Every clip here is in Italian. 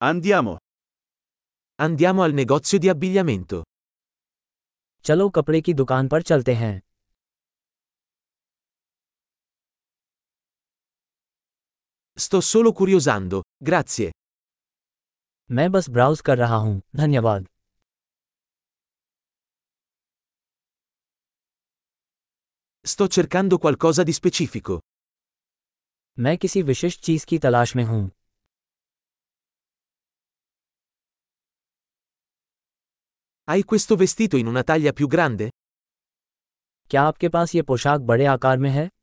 Andiamo. Andiamo al negozio di abbigliamento. चलो कपड़े की दुकान पर चलते हैं। Sto solo curiosando, grazie. मैं बस ब्राउज कर रहा हूँ, धन्यवाद। Sto cercando qualcosa di specifico. मैं किसी विशिष्ट चीज की तलाश में हूँ। Hai questo vestito in una taglia più grande? क्या आपके पास ये पोशाक बड़े आकार में है?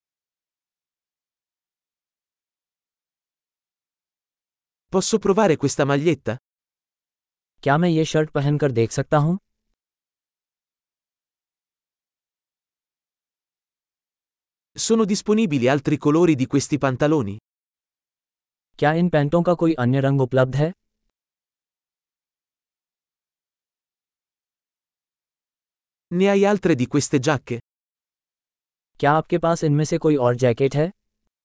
Posso provare questa maglietta? क्या मैं ये शर्ट पहनकर देख सकता हूँ? Sono disponibili altri colori di questi pantaloni? क्या इन पैंटों का कोई अन्य रंग उपलब्ध है? Ne hai altre di queste giacche? क्या आपके पास इनमें से कोई और जैकेट है?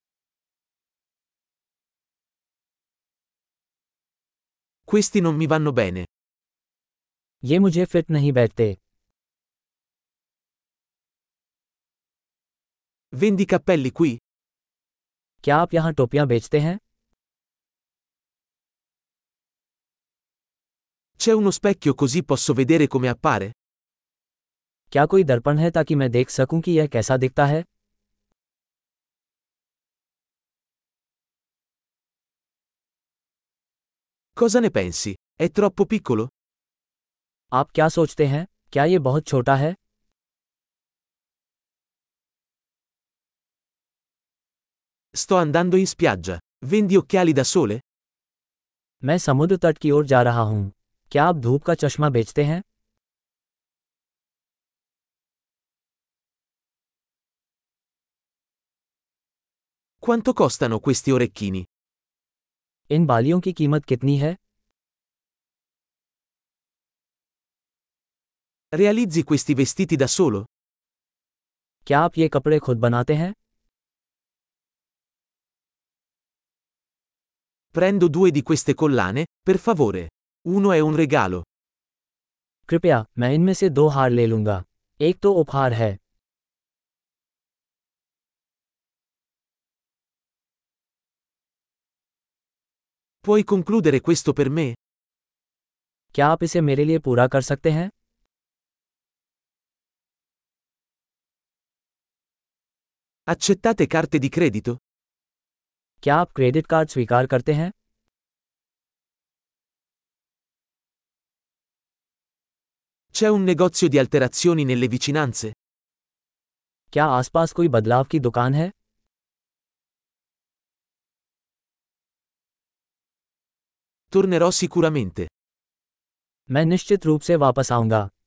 Questi non mi vanno bene. ये मुझे फिट नहीं बैठते। Vendi cappelli qui? क्या आप यहाँ टोपियाँ बेचते हैं? C'è uno specchio così posso vedere come appare? क्या कोई दर्पण है ताकि मैं देख सकूं कि यह कैसा दिखता है? Cosa ne pensi? È troppo piccolo? आप क्या सोचते हैं? क्या ये बहुत छोटा है? Sto andando in spiaggia. Vendi occhiali da sole? मैं समुद्र तट की ओर जा रहा हूँ। क्या आप धूप का चश्मा बेचते हैं? Quanto costano questi orecchini? इन बालियों की कीमत कितनी है? Realizzi questi vestiti da solo? क्या आप ये कपड़े खुद बनाते हैं? Prendo 2 di queste collane, per favore. Uno è un regalo. कृपया, मैं इनमें से 2 हार ले लूंगा। एक तो उपहार है। Puoi concludere questo per me? क्या आप इसे मेरे लिए पूरा कर सकते हैं? Accettate carte di credito? क्या आप क्रेडिट कार्ड स्वीकार करते हैं? C'è un negozio di alterazioni nelle vicinanze? क्या आसपास कोई बदलाव की दुकान है? Tornerò sicuramente. मैं निश्चित रूप से वापस आऊंगा।